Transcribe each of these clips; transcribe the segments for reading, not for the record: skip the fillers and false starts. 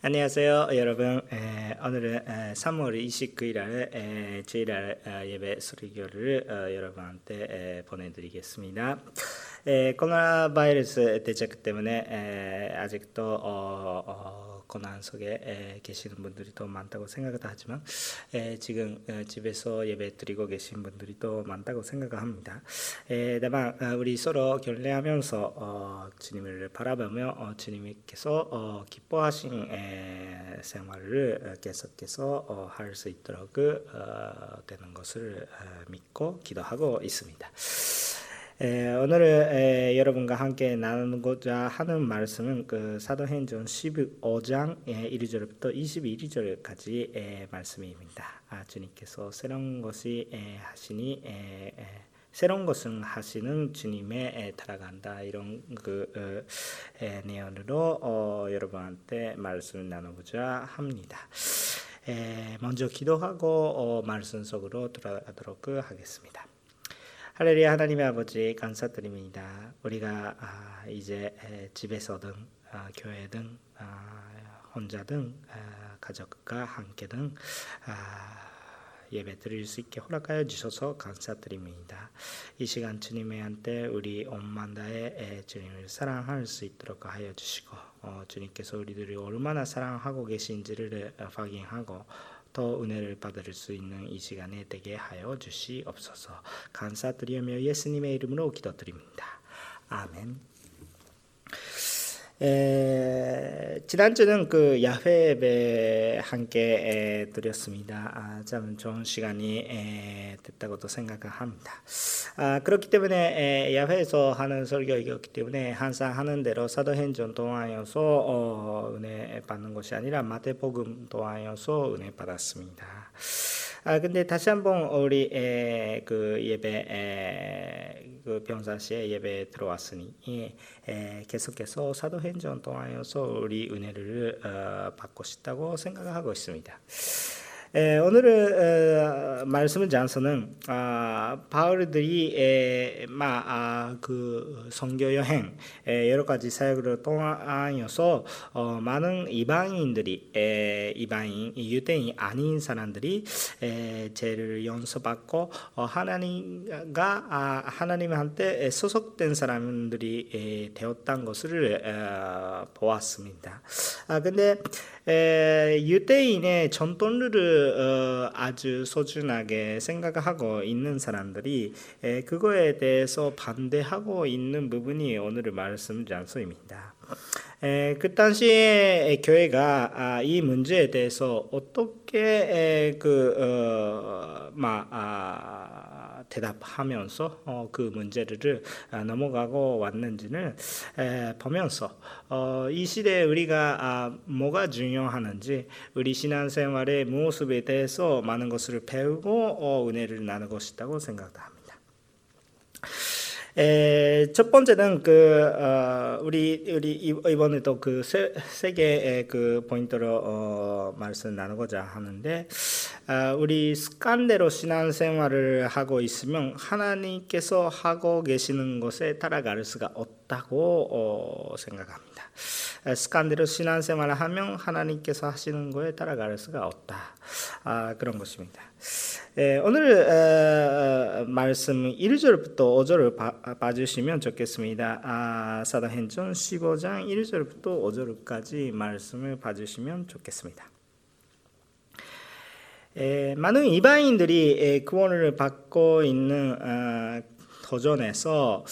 안녕하세요, 여러분. 오늘은 3월 29일 주일날 예배 설교를 여러분한테 보내드리겠습니다. 코로나 바이러스 대책 때문에 아직도 고난 속에 계시는 분들이 더 많다고 생각하지만 지금 집에서 예배 드리고 계신 분들이 더 많다고 생각합니다. 다만 우리 서로 결례하면서 주님을 바라보며 주님께서 기뻐하신 생활을 계속해서 할 수 있도록 되는 것을 믿고 기도하고 있습니다. 오늘 여러분과 함께 나누고자 하는 말씀은 사도행전 15장 1절부터 21절까지 말씀입니다. 주님께서 새로운 것은 하시는 주님에 따라간다, 이런 내용으로 여러분한테 말씀을 나누고자 합니다. 먼저 기도하고 말씀 속으로 들어가도록 하겠습니다. 할렐루야. 하나님의 아버지, 감사드립니다. 우리가 이제 집에서든 교회든 혼자든 가족과 함께든 예배 드릴 수 있게 허락하여 주셔서 감사드립니다. 이 시간 주님의 한때 우리 온 만다에 주님을 사랑할 수 있도록 하여 주시고, 주님께서 우리들이 얼마나 사랑하고 계신지를 확인하고 더 은혜를 받을 수 있는 이 시간에 되게 하여 주시옵소서. 감사드리며 예수님의 이름으로 기도드립니다. 아멘. 지난주는 야훼 예배 함께 드렸습니다. 참 좋은 시간이 됐다고도 생각합니다. 그렇기 때문에 야훼에서 하는 설교이기 때문에 항상 하는 대로 사도행전 통하여서 은혜 받는 것이 아니라 마태복음 통하여서 은혜 받았습니다. 근데 다시 한번 우리 예배 병사시에 예배 들어왔으니 계속해서 사도행전 통하여서 우리 은혜를 받고 싶다고 생각하고 있습니다. 오늘 말씀을 장소는 바울들이 선교 여행 여러 가지 사역을 통하여서 많은 이방인들이 유대인이 아닌 사람들이 죄를 용서받고 하나님한테 소속된 사람들이 되었다는 것을 보았습니다. 근데 유대인의 전통을 아주 소중하게 생각하고 있는 사람들이 그거에 대해서 반대하고 있는 부분이 오늘의 말씀 장소입니다. 그 당시에 교회가 이 문제에 대해서 어떻게 대답하면서 그 문제를 넘어가고 왔는지를 보면서 이 시대에 우리가 뭐가 중요하는지, 우리 신앙생활의 모습에 대해서 많은 것을 배우고 은혜를 나누고 싶다고 생각합니다. 첫 번째는 우리 이번에도 세 개의 포인트로 말씀 나누고자 하는데, 우리 습관대로 신앙생활을 하고 있으면 하나님께서 하고 계시는 것에 따라갈 수가 없다고 생각합니다. 습관대로 신앙생활을 하면 하나님께서 하시는 것에 따라갈 수가 없다, 그런 것입니다. 오늘 말씀 1절부터 5절을 봐주시면 좋겠습니다. 사도행전 15장 1절부터 5절까지 말씀을 봐주시면 좋겠습니다. 많은 이방인들이 구원을 받고 있는 도전에서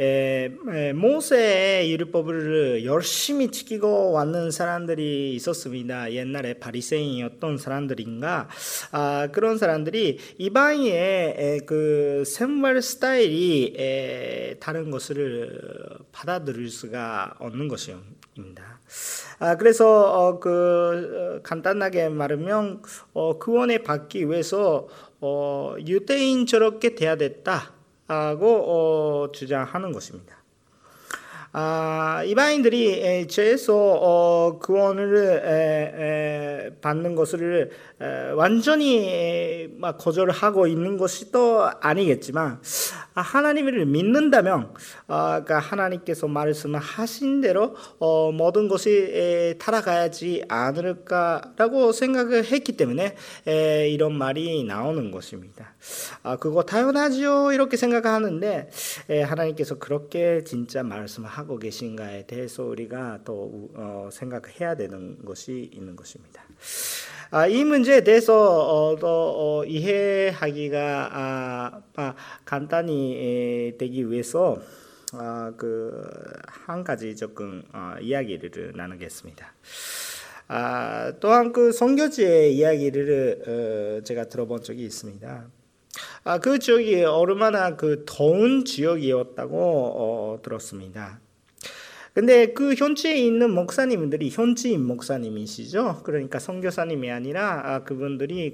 모세의 율법을 열심히 지키고 왔는 사람들이 있었습니다. 옛날에 바리새인이었던 사람들인가, 그런 사람들이 이방인의 생활 스타일이 다른 것을 받아들일 수가 없는 것입니다. 그래서 간단하게 말하면 구원을 받기 위해서 유대인처럼 돼야 됐다 하고 주장하는 것입니다. 이방인들이 죄에서 구원을 받는 것을 완전히 거절하고 있는 것이 또 아니겠지만, 하나님을 믿는다면 그러니까 하나님께서 말씀하신 대로 모든 것이 타락하지 않을까라고 생각을 했기 때문에 이런 말이 나오는 것입니다. 그거 당연하죠 이렇게 생각하는데, 하나님께서 그렇게 진짜 말씀하고 계신가에 대해서 우리가 또 생각해야 되는 것이 있는 것입니다. 이 문제에 대해서 이해하기가 간단히 되기 위해서 한 가지 조금 이야기를 나누겠습니다. 또한 그 선교지의 이야기를 제가 들어본 적이 있습니다. 그 지역이 얼마나 그 더운 지역이었다고 들었습니다. 근데 그 현지에 있는 목사님들이 현지인 목사님이시죠. 그러니까 선교사님이 아니라 그분들이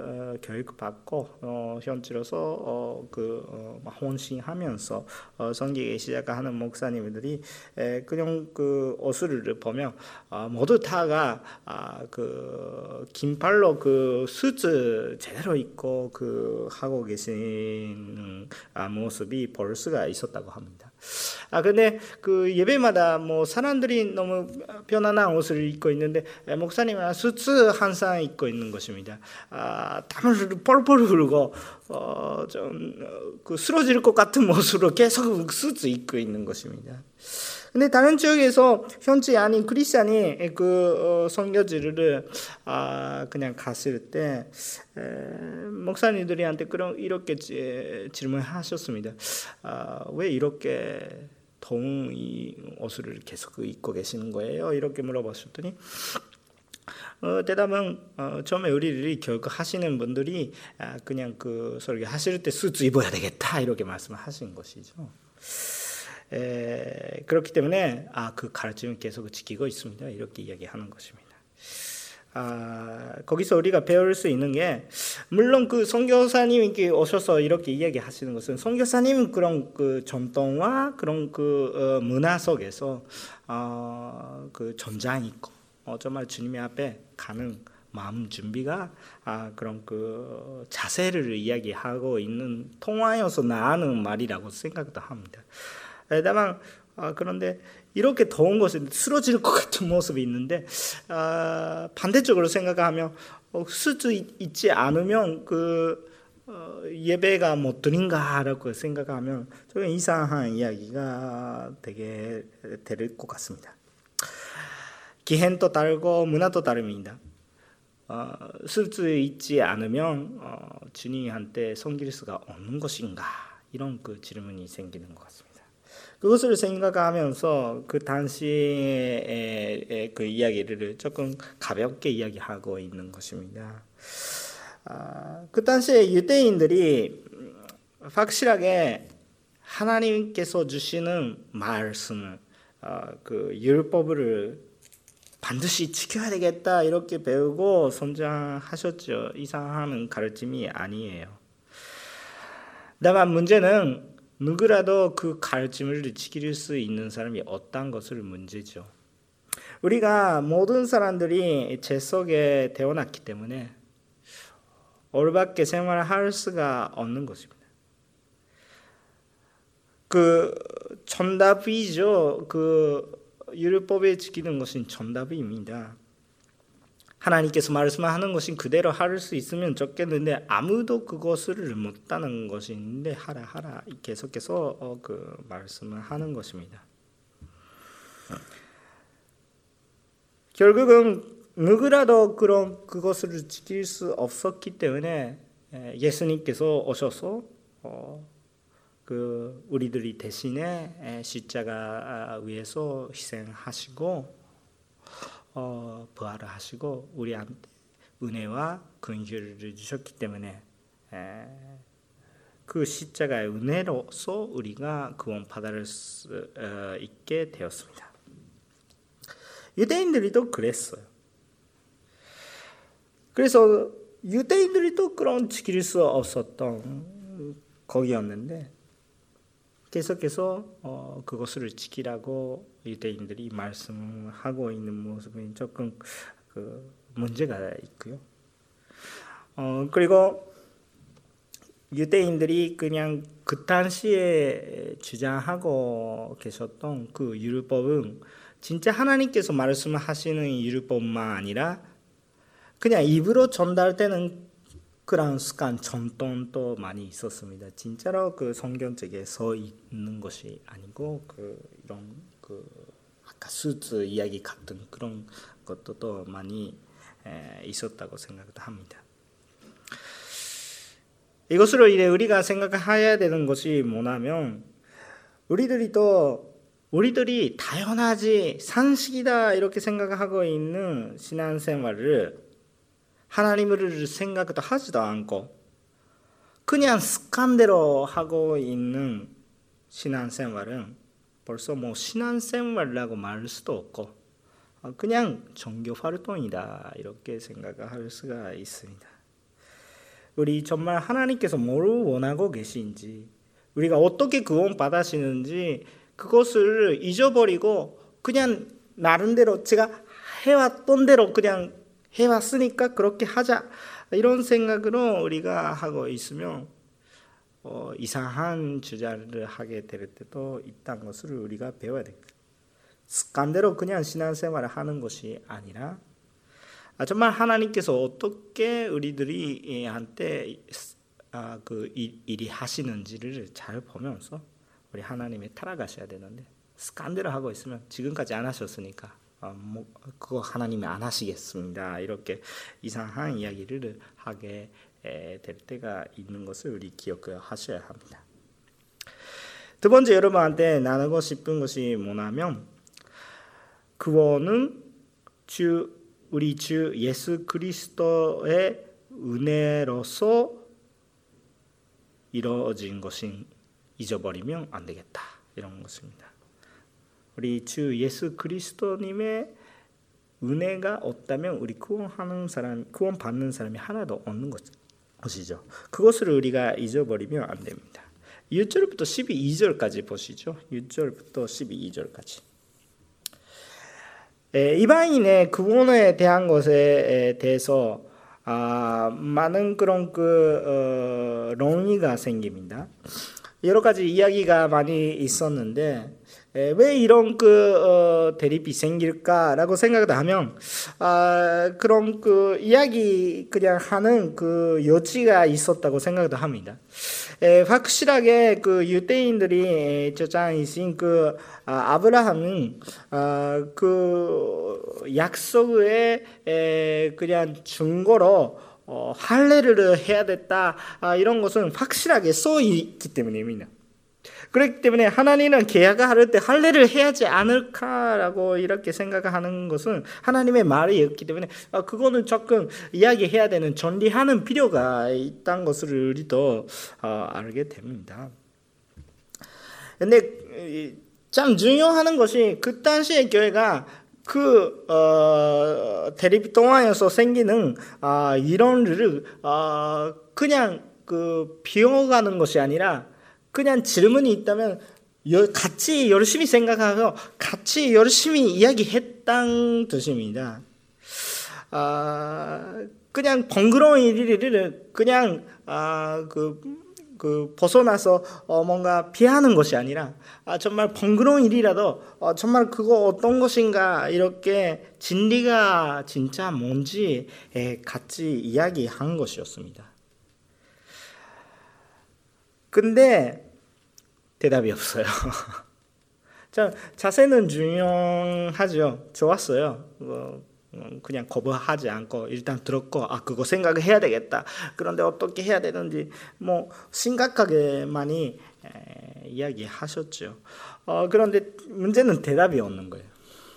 교육받고 현지로서 헌신하면서 섬기기 시작하는 목사님들이 그냥 그 옷을 보면 모두 다가 긴팔로 수트 제대로 입고 하고 계신 모습이 볼 수가 있었다고 합니다. 근데 그 예배마다 사람들이 너무 편안한 옷을 입고 있는데 목사님은 수트 항상 입고 있는 것입니다. 땀을 뻘뻘 흘리고 쓰러질 것 같은 모습으로 계속 수트 입고 있는 것입니다. 근데 다른 지역에서 현지 아닌 크리스찬이 선교지를 그냥 갔을 때 목사님들한테 이렇게 질문하셨습니다. 왜 이렇게 더운 이 옷을 계속 입고 계시는 거예요? 이렇게 물어봤더니 대답은 처음에 우리를 교육하시는 분들이 그냥 설교 하실 때 수트 입어야 되겠다 이렇게 말씀하신 것이죠. 그렇기 때문에 그 가르침을 계속 지키고 있습니다. 이렇게 이야기하는 것입니다. 거기서 우리가 배울 수 있는 게, 물론 그 선교사님이 오셔서 이렇게 이야기하시는 것은 선교사님은 그런 전통과 그런 문화 속에서 전장 있고 정말 주님의 앞에 가는 마음 준비가 그런 자세를 이야기하고 있는 통화여서 나오는 말이라고 생각도 합니다. 다만 그런데 이렇게 더운 곳에 쓰러질 것 같은 모습이 있는데 반대쪽으로 생각하면 수트 있지 않으면 예배가 못 드린가라고 생각하면 좀 이상한 이야기가 되게 될 것 같습니다. 기행도 다르고 문화도 다릅니다. 수트 있지 않으면 주님한테 섬길 수가 없는 것인가, 이런 질문이 생기는 것 같습니다. 그것을 생각하면서 그 당시의 그 이야기를 조금 가볍게 이야기하고 있는 것입니다. 그 당시에 유대인들이 확실하게 하나님께서 주시는 말씀을 율법을 반드시 지켜야 되겠다 이렇게 배우고 성장하셨죠. 이상한 가르침이 아니에요. 다만 문제는 누구라도 그 가르침을 지킬 수 있는 사람이 없다는 것을 문제죠. 우리가 모든 사람들이 죄 속에 태어났기 때문에 올바르게 생활할 수가 없는 것입니다. 정답이죠. 율법에 지키는 것은 정답입니다. 하나님께서 말씀하는 것이 그대로 할 수 있으면 좋겠는데 아무도 그것을 못하는 것인데 하라 계속해서 말씀을 하는 것입니다. 결국은 누구라도 그것을 지킬 수 없었기 때문에 예수님께서 오셔서 우리들이 대신에 십자가 위에서 희생하시고 부활을 하시고 우리한테 은혜와 긍휼을 주셨기 때문에 그 십자가의 은혜로서 우리가 구원받을 수 있게 되었습니다. 유대인들이 또 그랬어요. 그래서 유대인들이 또 그런 지킬 수 없었던 거기였는데, 계속해서 그것을 지키라고 유대인들이 말씀하고 있는 모습이 조금 문제가 있고요. 그리고 유대인들이 그냥 그 당시에 주장하고 계셨던 그 율법은 진짜 하나님께서 말씀하시는 율법만 아니라 그냥 입으로 전달되는 그런 습관, 전통도 많이 있었습니다. 진짜로 그 성경책에 써 있는 것이 아니고 이런 아까 수트 이야기 같은 그런 것도 많이 있었다고 생각도 합니다. 이것으로 인해 우리가 생각해야 되는 것이 뭐냐면 우리들이 당연하지 상식이다 이렇게 생각하고 있는 신앙생활을 하나님을 생각도 하지도 않고 그냥 습관대로 하고 있는 신앙생활은 벌써 신앙생활이라고 말할 수도 없고 그냥 종교 활동이다 이렇게 생각할 수가 있습니다. 우리 정말 하나님께서 뭘 원하고 계신지 우리가 어떻게 구원 받으시는지 그것을 잊어버리고 그냥 나름대로 제가 해왔던 대로 그냥 해왔으니까 그렇게 하자 이런 생각으로 우리가 하고 있으면 이상한 주장을 하게 될 때도 있다는 것을 우리가 배워야 됩니다. 습관대로 그냥 신앙생활을 하는 것이 아니라 정말 하나님께서 어떻게 우리들이 한테 그 일이 하시는지를 잘 보면서 우리 하나님에 따라가셔야 되는데 습관대로 하고 있으면 지금까지 안 하셨으니까 그거 하나님이 안 하시겠습니다. 이렇게 이상한 이야기를 하게 될 때가 있는 것을 우리 기억하셔야 합니다. 두 번째 여러분한테 나누고 싶은 것이 뭐냐면 구원은 우리 주 예수 그리스도의 은혜로서 이루어진 것인 잊어버리면 안 되겠다 이런 것입니다. 우리 주 예수 그리스도님의 은혜가 없다면 우리 구원 받는 사람이 하나도 없는 것이죠. 그것을 우리가 잊어버리면 안 됩니다. 1절부터 12절까지 보시죠. 1절부터 12절까지. 이방인의 구원에 대한 것에 대해서 많은 그런 논의가 생깁니다. 여러 가지 이야기가 많이 있었는데 왜 이런 대립이 생길까라고 생각을 하면 그런 이야기 그냥 하는 여지가 있었다고 생각도 합니다. 확실하게 유대인들이 주장이신 아브라함은 약속의 그냥 증거로 할례를 해야 됐다 이런 것은 확실하게 써 있기 때문입니다. 그렇기 때문에 하나님은 계약할 때 할례를 해야지 않을까라고 이렇게 생각하는 것은 하나님의 말이었기 때문에 그거는 조금 이야기해야 되는 전리하는 필요가 있다는 것을 우리도 알게 됩니다. 근데 참 중요한 것이 그 당시의 교회가 대립 동안에서 생기는 이론을 그냥 비워가는 것이 아니라 그냥 질문이 있다면 같이 열심히 생각하고 같이 열심히 이야기했다는 뜻입니다. 그냥 번거로운 일을 그냥 벗어나서 뭔가 피하는 것이 아니라 정말 번거로운 일이라도 정말 그거 어떤 것인가 이렇게 진리가 진짜 뭔지 같이 이야기한 것이었습니다. 근데 대답이 없어요. 자세는 중요하죠. 좋았어요. 그냥 거부하지 않고 일단 들었고 그거 생각을 해야 되겠다. 그런데 어떻게 해야 되는지 심각하게 많이 이야기하셨죠. 그런데 문제는 대답이 없는 거예요.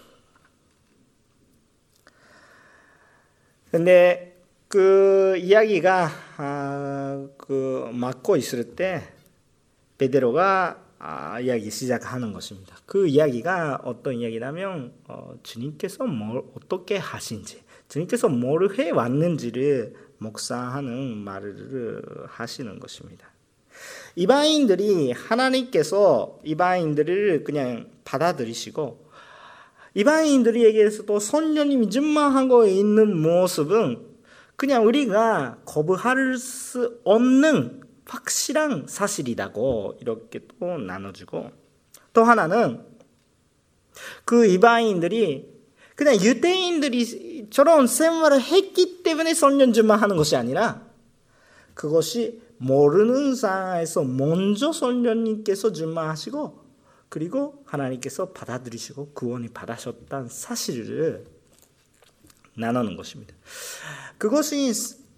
근데 이야기가 막고 있을 때 베드로가 이야기 시작하는 것입니다. 그 이야기가 어떤 이야기냐면 주님께서 뭘 어떻게 하신지, 주님께서 뭘 해왔는지를 묵상하는 말을 하시는 것입니다. 이방인들이 하나님께서 이방인들을 그냥 받아들이시고 이방인들에게서도 성령이 임하고 있는 모습은 그냥 우리가 거부할 수 없는 확실한 사실이라고 이렇게 또 나눠주고, 또 하나는 그 이방인들이 그냥 유대인들이 저런 생활을 했기 때문에 성령 충만하는 것이 아니라 그것이 모르는 상황에서 먼저 성령님께서 충만하시고 그리고 하나님께서 받아들이시고 구원이 받으셨다는 사실을 나누는 것입니다. 그것이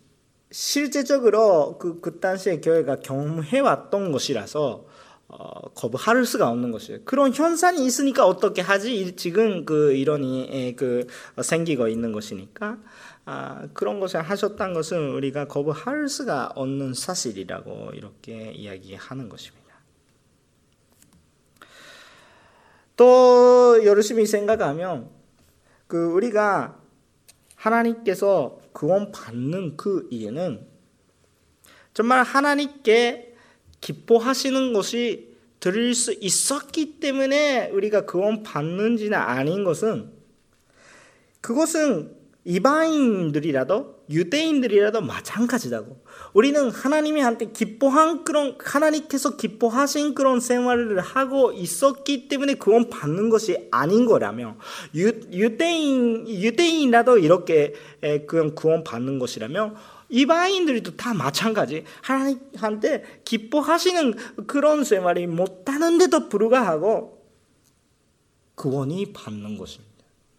실제적으로 그 당시의 교회가 경험해왔던 것이라서 거부할 수가 없는 것이에요. 그런 현상이 있으니까 어떻게 하지? 지금 그 이론이 생기고 있는 것이니까 그런 것을 하셨다는 것은 우리가 거부할 수가 없는 사실이라고 이렇게 이야기하는 것입니다. 또 열심히 생각하면 우리가 하나님께서 구원 받는 그 이유는 정말 하나님께 기뻐하시는 것이 드릴 수 있었기 때문에 우리가 구원 받는지는 아닌 것은, 그것은 이방인들이라도 유대인들이라도 마찬가지라고. 우리는 하나님한테 기뻐한 그런, 하나님께서 기뻐하신 그런 생활을 하고 있었기 때문에 구원 받는 것이 아닌 거라며, 유대인이라도 이렇게 그런 구원 받는 것이라며 이방인들도 다 마찬가지. 하나님한테 기뻐하시는 그런 생활이 못하는데도 불구하고 구원이 받는 것입니다.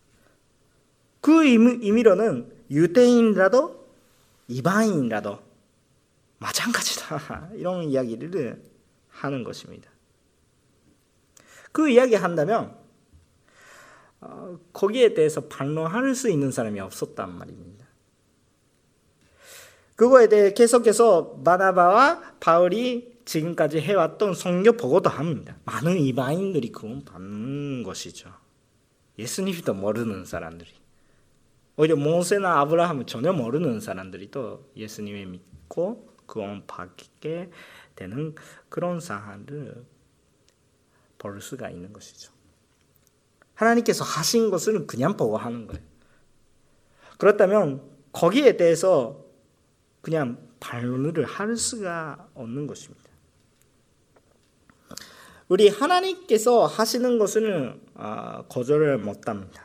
그 의미로는 유대인이라도 이방인이라도 마찬가지다, 이런 이야기를 하는 것입니다. 그 이야기 한다면 거기에 대해서 반론할 수 있는 사람이 없었단 말입니다. 그거에 대해 계속해서 바나바와 바울이 지금까지 해왔던 성경 보고도 합니다. 많은 이방인들이 구원 받는 것이죠. 예수님도 모르는 사람들이, 오히려 모세나 아브라함을 전혀 모르는 사람들이 또 예수님을 믿고 구원 받게 되는 그런 상황을 볼 수가 있는 것이죠. 하나님께서 하신 것을 그냥 보고 하는 거예요. 그렇다면 거기에 대해서 그냥 반론을 할 수가 없는 것입니다. 우리 하나님께서 하시는 것을 거절을 못합니다.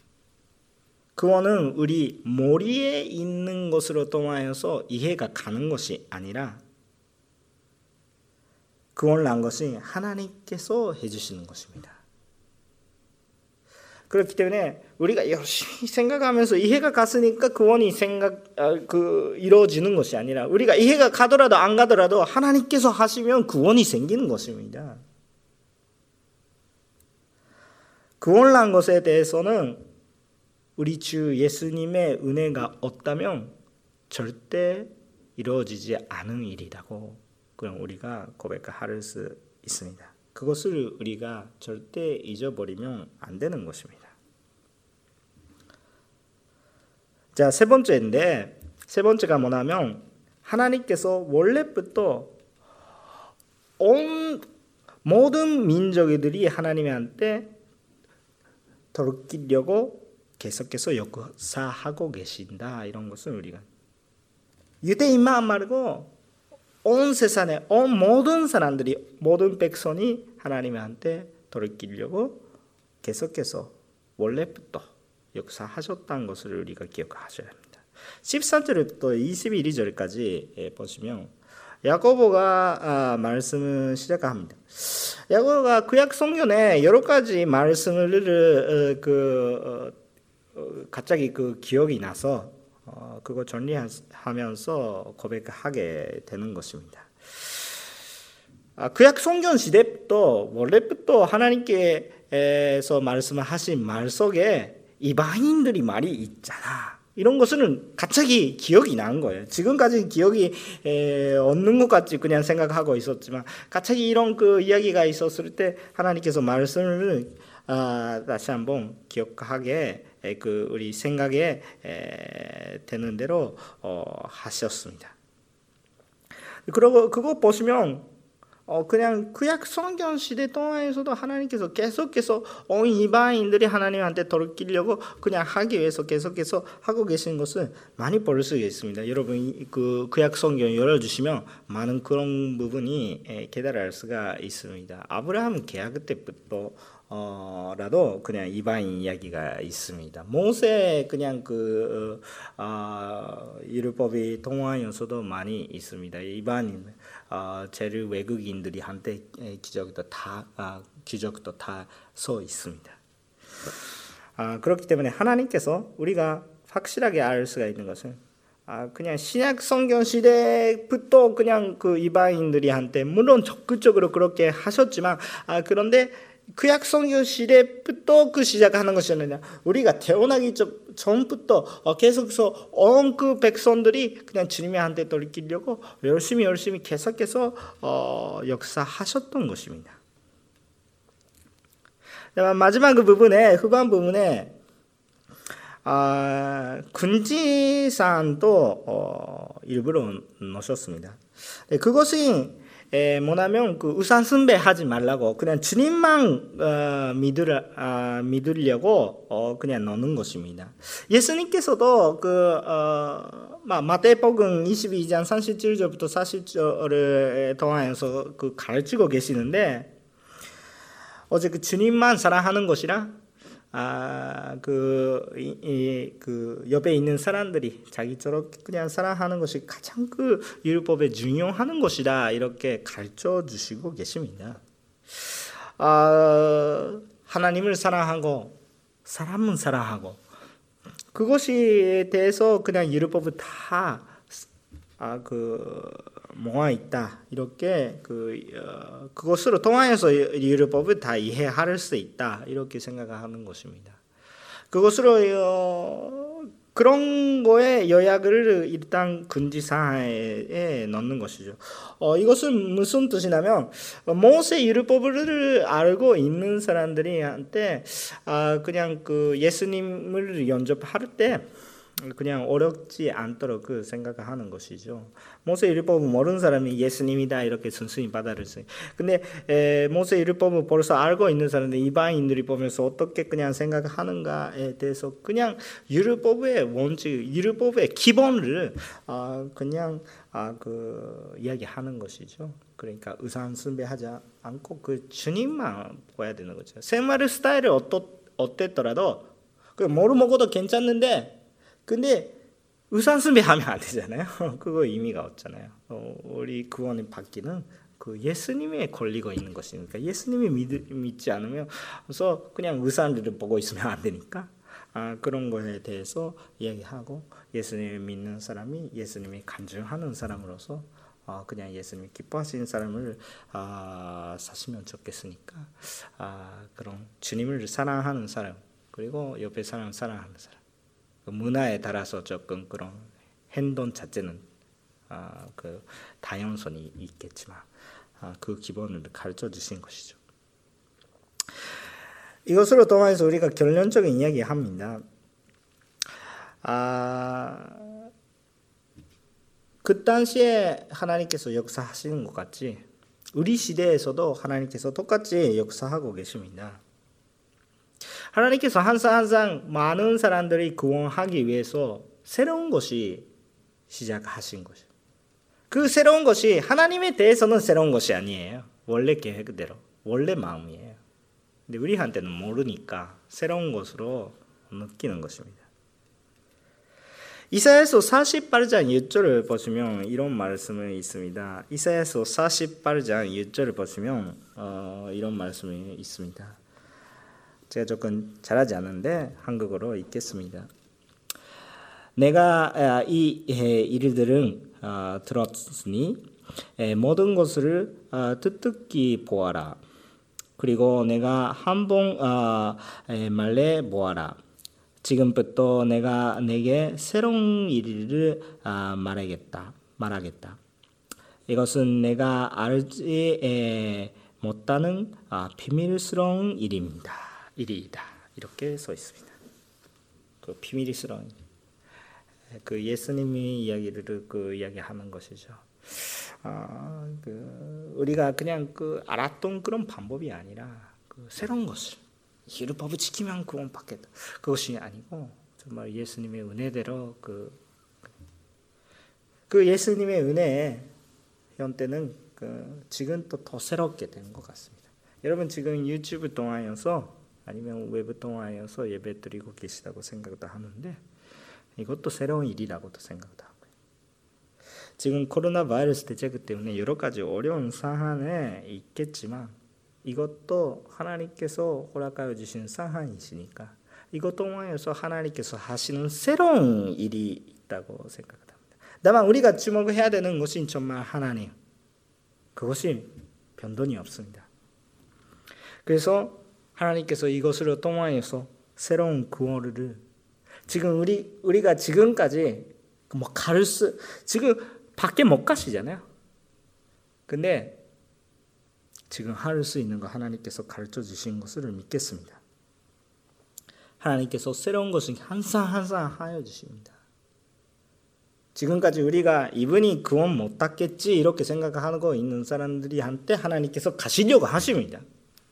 그거는 우리 머리에 있는 것으로 통하여서 이해가 가는 것이 아니라 구원을 한 것이 하나님께서 해주시는 것입니다. 그렇기 때문에 우리가 열심히 생각하면서 이해가 갔으니까 구원이 이루어지는 것이 아니라, 우리가 이해가 가더라도 안 가더라도 하나님께서 하시면 구원이 생기는 것입니다. 구원을 한 것에 대해서는 우리 주 예수님의 은혜가 없다면 절대 이루어지지 않은 일이라고 그냥 우리가 고백할 수 있습니다. 그것을 우리가 절대 잊어버리면 안 되는 것입니다. 자, 세 번째인데, 세 번째가 뭐냐면 하나님께서 원래부터 온 모든 민족들이 하나님한테 돌이키려고 계속해서 역사하고 계신다, 이런 것을 우리가, 유대인만 말고 온 세상에 온 모든 사람들이, 모든 백성이 하나님한테 돌이키려고 계속해서 원래부터 역사하셨다는 것을 우리가 기억하셔야 합니다. 13절부터 22절까지 보시면 야고보가 말씀을 시작합니다. 야고보가 구약 성경에 여러 가지 말씀을 갑자기 기억이 나서 그거 정리하면서 고백하게 되는 것입니다. 구약 성경 시대부터 원래부터 하나님께서 말씀하신 말 속에 이방인들이 말이 있잖아, 이런 것은 갑자기 기억이 난 거예요. 지금까지 기억이 없는 것 같이 그냥 생각하고 있었지만 갑자기 이런 이야기가 있었을 때 하나님께서 말씀을 다시 한번 기억하게 우리 생각에 되는 대로 하셨습니다. 그리고 그거 보시면 그냥 구약 성경 시대 동안에서도 하나님께서 계속해서 온 이방인들이 하나님한테 돌이키려고 그냥 하기 위해서 계속해서 하고 계신 것을 많이 볼 수 있습니다. 여러분 그 구약 성경 열어주시면 많은 그런 부분이 깨달을 수가 있습니다. 아브라함 계약 때부터 라도 그냥 이방인 이야기가 있습니다. 모세 그냥 율법이 동화에서도 많이 있습니다. 이방인 제일 외국인들이 한테 기적도 다 써 있습니다. 그렇기 때문에 하나님께서 우리가 확실하게 알 수가 있는 것은 그냥 신약 성경 시대부터 그냥 그 이방인들이 한테 물론 적극적으로 그렇게 하셨지만 그런데 구약 성경 시대부터 시작하는 것이 아니라 우리가 태어나기 전부터 계속해서 온 그 백성들이 그냥 주님한테 돌이키려고 열심히 계속해서 역사하셨던 것입니다. 마지막 그 부분에 후반 부분에 군지사안도 일부러 넣으셨습니다. 그것이 뭐냐면 우상 숭배하지 말라고 그냥 주님만 믿으려고 그냥 넣는 것입니다. 예수님께서도 마태복음 22장 37절부터 40절을 통하여서 가르치고 계시는데 어제 주님만 사랑하는 것이라 옆에 있는 사람들이 자기처럼 그냥 사랑하는 것이 가장 율법에 중요한 것이다 이렇게 가르쳐 주시고 계십니다. 하나님을 사랑하고 사람은 사랑하고 그것에 대해서 그냥 율법을 다 모아 있다 이렇게 그것으로 통하여서 율법을 다 이해할 수 있다 이렇게 생각하는 것입니다. 그것으로 그런 거에 요약을 일단 군지사에 넣는 것이죠. 이것은 무슨 뜻이냐면 모세 율법을 알고 있는 사람들이한테 그냥 예수님을 영접할 때 그냥 어렵지 않도록 생각하는 것이죠. 모세 율법을 모르는 사람이 예수님이다 이렇게 순순히 받아들였어요. 근데 모세 율법을 벌써 알고 있는 사람들 이방인들이 보면서 어떻게 그냥 생각하는가에 대해서 그냥 율법의 원칙, 율법의 기본을 그냥 이야기하는 것이죠. 그러니까 우상 숭배하지 않고 주님만 보아야 되는 거죠. 생활 스타일이 어땠더라도 뭐를 먹어도 괜찮는데 근데 우상 숭배하면 안 되잖아요. 그거 의미가 없잖아요. 우리 구원을 받기는 예수님에 걸리고 있는 것이니까 예수님이 믿지 않으면 그래서 그냥 우상을 보고 있으면 안 되니까 그런 거에 대해서 이야기하고 예수님을 믿는 사람이 예수님이 간증하는 사람으로서 그냥 예수님이 기뻐하시는 사람을 사시면 좋겠으니까 그런 주님을 사랑하는 사람 그리고 옆에 사람 사랑하는 사람 문화에 따라서 조금 그런 행동 자체는 다양성이 있겠지만 그 기본을 가르쳐 주신 것이죠. 이것으로 통해서 우리가 결론적인 이야기합니다. 그 당시에 하나님께서 역사하시는 것 같이 우리 시대에서도 하나님께서 똑같이 역사하고 계십니다. 하나님께서 항상 많은 사람들이 구원하기 위해서 새로운 것이 시작하신 것이에요. 그 새로운 것이 하나님에 대해서는 새로운 것이 아니에요. 원래 계획대로, 원래 마음이에요. 근데 우리한테는 모르니까 새로운 것으로 느끼는 것입니다. 이사야서 48장 6절을 보시면 이런 말씀이 있습니다. 이사야서 48장 6절을 보시면 이런 말씀이 있습니다. 제가 조금 잘하지 않는데 한국어로 읽겠습니다. 내가 이 일들은 들었으니 모든 것을 뜻깊이 보아라. 그리고 내가 한번 말해 보아라. 지금부터 내가 내게 새로운 일을 말하겠다. 이것은 내가 알지 못하는 비밀스러운 일이다. 이렇게 써 있습니다. 비밀스러운 예수님이 이야기를 이야기하는 것이죠. 우리가 그냥 알았던 그런 방법이 아니라 새로운 것을 율법을 지키면 구원받겠다. 그것이 아니고 정말 예수님의 은혜대로 그 예수님의 은혜의 형태는 지금 또 더 새롭게 된 것 같습니다. 여러분 지금 유튜브 통하여서 아니면 웹 통하여서 예배 드리고 계시다고 생각도 하는데 이것도 새로운 일이라고도 생각도 하고요. 지금 코로나 바이러스 대책 때문에 여러 가지 어려운 상황에 있겠지만 이것도 하나님께서 허락하여 주신 상황이시니까 이것 통하여서 하나님께서 하시는 새로운 일이 있다고 생각합니다. 다만 우리가 주목해야 되는 것이 정말 하나님, 그것이 변동이 없습니다. 그래서 하나님께서 이것을 통하여서 새로운 구원을 지금 우리가 지금까지 지금 밖에 못 가시잖아요. 근데 지금 할 수 있는 거 하나님께서 가르쳐 주신 것을 믿겠습니다. 하나님께서 새로운 것을 항상 하여 주십니다. 지금까지 우리가 이분이 구원 못 받겠지 이렇게 생각하고 있는 사람들이 한테 하나님께서 가시려고 하십니다.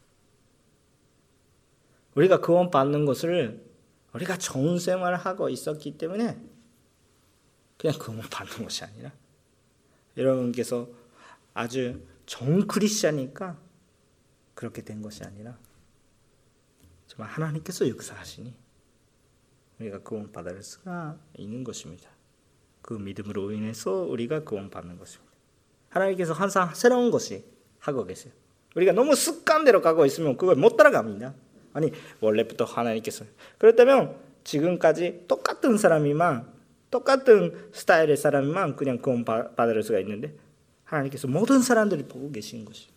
우리가 구원 받는 것을 우리가 좋은 생활을 하고 있었기 때문에 그냥 구원 받는 것이 아니라 여러분께서 아주 좋은 크리스찬이니까 그렇게 된 것이 아니라 정말 하나님께서 역사하시니 우리가 구원 받을 수가 있는 것입니다. 그 믿음으로 인해서 우리가 구원 받는 것입니다. 하나님께서 항상 새로운 것이 하고 계세요. 우리가 너무 습관대로 가고 있으면 그걸 못 따라갑니다. 아니 원래부터 하나님께서 그렇다면 지금까지 똑같은 사람이만 똑같은 스타일의 사람이만 그냥 구원 받을 수가 있는데 하나님께서 모든 사람들이 보고 계신 것이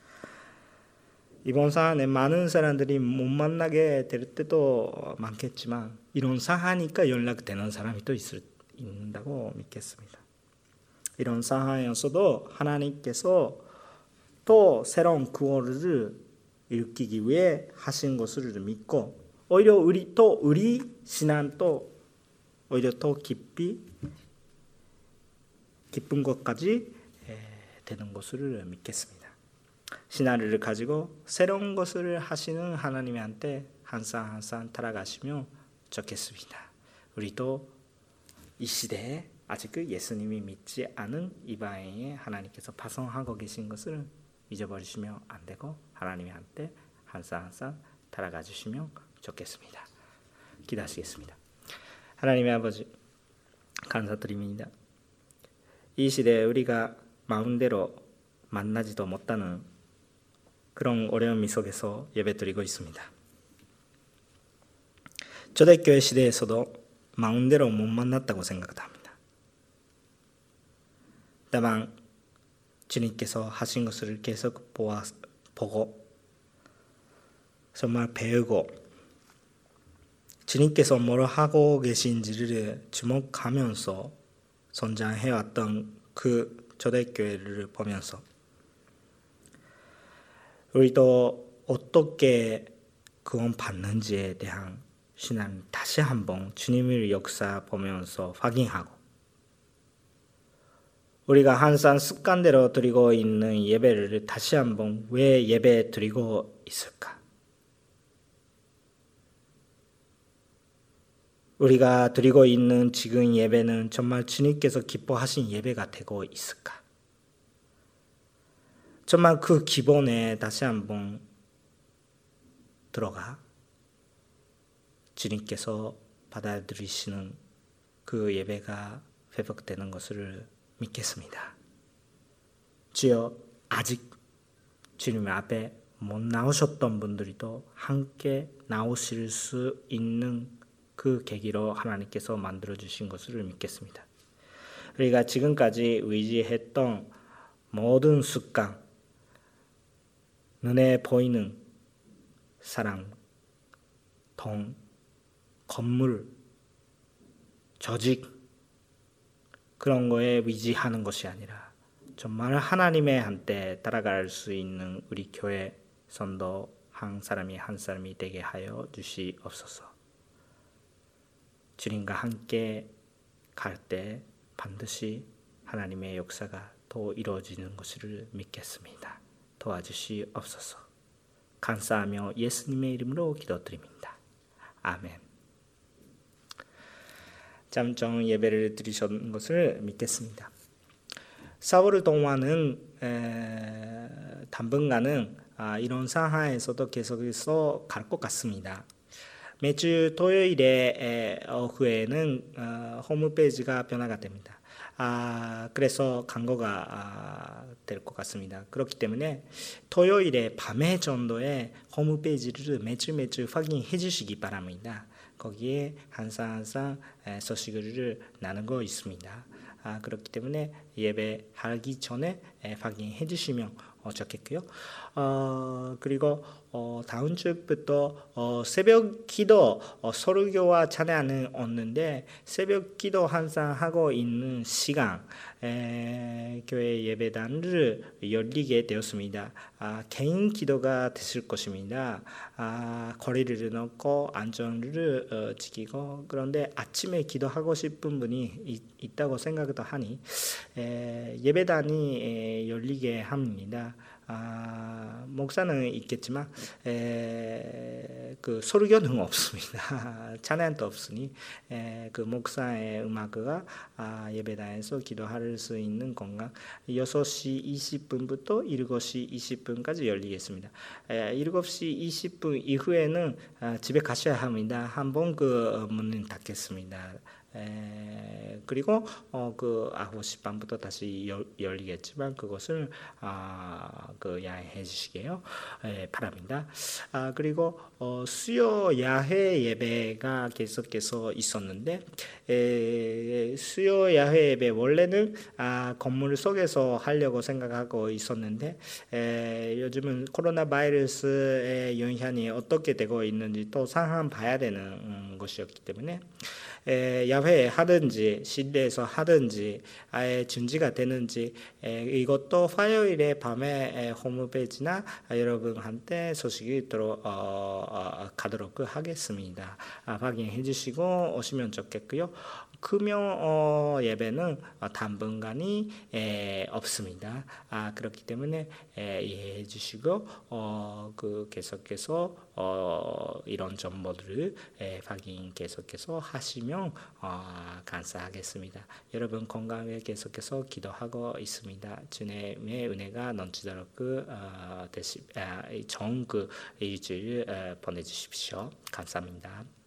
이번 사안에 많은 사람들이 못 만나게 될 때도 많겠지만 이런 사안이니까 연락되는 사람이 또 있는다고 믿겠습니다. 이런 상황에서도 하나님께서 또 새로운 구원을 일으키기 위해 하신 것을 믿고 오히려 우리 신앙 또 오히려 더 기쁜 것까지 되는 것을 믿겠습니다. 신앙을 가지고 새로운 것을 하시는 하나님한테 항상 따라가시면 좋겠습니다. 우리도 이 시대에 아직 예수님이 믿지 않은 이방인에 하나님께서 파송하고 계신 것을 잊어버리시면 안 되고 하나님한테 항상 따라가 주시면 좋겠습니다. 기도하시겠습니다. 하나님의 아버지 감사드립니다. 이 시대에 우리가 마음대로 만나지도 못하는 그런 어려움 속에서 예배드리고 있습니다. 초대교회 시대에서도 마음대로 못 만났다고 생각합니다. 다만 주님께서 하신 것을 계속 보고 정말 배우고 주님께서 뭘 하고 계신지를 주목하면서 성장해왔던 그 초대교회를 보면서 우리도 어떻게 구원받는지에 대한 신앙 다시 한번 주님의 역사 보면서 확인하고 우리가 항상 습관대로 드리고 있는 예배를 다시 한번 왜 예배 드리고 있을까? 우리가 드리고 있는 지금 예배는 정말 주님께서 기뻐하신 예배가 되고 있을까? 정말 그 기본에 다시 한번 들어가 주님께서 받아들이시는 그 예배가 회복되는 것을 믿겠습니다. 주여 아직 주님 앞에 못 나오셨던 분들도 함께 나오실 수 있는 그 계기로 하나님께서 만들어주신 것을 믿겠습니다. 우리가 지금까지 의지했던 모든 습관, 눈에 보이는 사랑, 돈, 건물, 조직 그런 거에 의지하는 것이 아니라 정말 하나님의 한때 따라갈 수 있는 우리 교회 선도 한 사람이 되게 하여 주시옵소서. 주님과 함께 갈 때 반드시 하나님의 역사가 또 이루어지는 것을 믿겠습니다. 도와주시옵소서. 감사하며 예수님의 이름으로 기도드립니다. 아멘. 잠정 예배를 드리신 것을 믿겠습니다. 4월 동안은 당분간은 이런 상황에서도 계속해서 갈 것 같습니다. 매주 토요일에 오후에는 홈페이지가 변화가 됩니다. 그래서 광고가 될 것 같습니다. 그렇기 때문에 토요일에 밤에 정도에 홈페이지를 매주 확인해 주시기 바랍니다. 거기에 항상 소식을 나누고 있습니다. 그렇기 때문에 예배하기 전에 확인해 주시면 좋겠고요. 그리고 다음 주부터 새벽 기도 설교와 찬양은 없는데 새벽 기도 항상 하고 있는 시간 교회 예배단을 열리게 되었습니다. 개인 기도가 되실 것입니다. 거리를 놓고 안전을 지키고 그런데 아침에 기도하고 싶은 분이 있다고 생각도 하니 예배단이 열리게 합니다. 목사는 있겠지만 그 설교는 없습니다. 찬양도 없으니 그 목사의 음악가 예배단에서 기도할 수 있는 공간 6시 20분부터 7시 20분까지 열리겠습니다. 7시 20분 이후에는 집에 가셔야 합니다. 한번 그 문을 닫겠습니다. 그리고 그 9시 반부터 다시 열리겠지만 그것을 그 야해해 주시게요 바랍니다. 그리고 수요 야외 예배가 계속해서 있었는데 수요 야외 예배 원래는 건물 속에서 하려고 생각하고 있었는데 요즘은 코로나 바이러스의 영향이 어떻게 되고 있는지 또 상황 봐야 되는 것이었기 때문에 야외에 하든지 실내에서 하든지 아예 준비가 되는지 이것도 화요일에 밤에 홈페이지나 여러분한테 소식이 가도록 하겠습니다. 확인해 주시고 오시면 좋겠고요. 금요 예배는 당분간이 없습니다. 그렇기 때문에 이해해 주시고 그 계속해서 이런 정보들을 확인 계속해서 하시면 감사하겠습니다. 여러분 건강에 계속해서 기도하고 있습니다. 주님의 은혜가 넘치도록 좋은 그 일주일 보내주십시오. 감사합니다.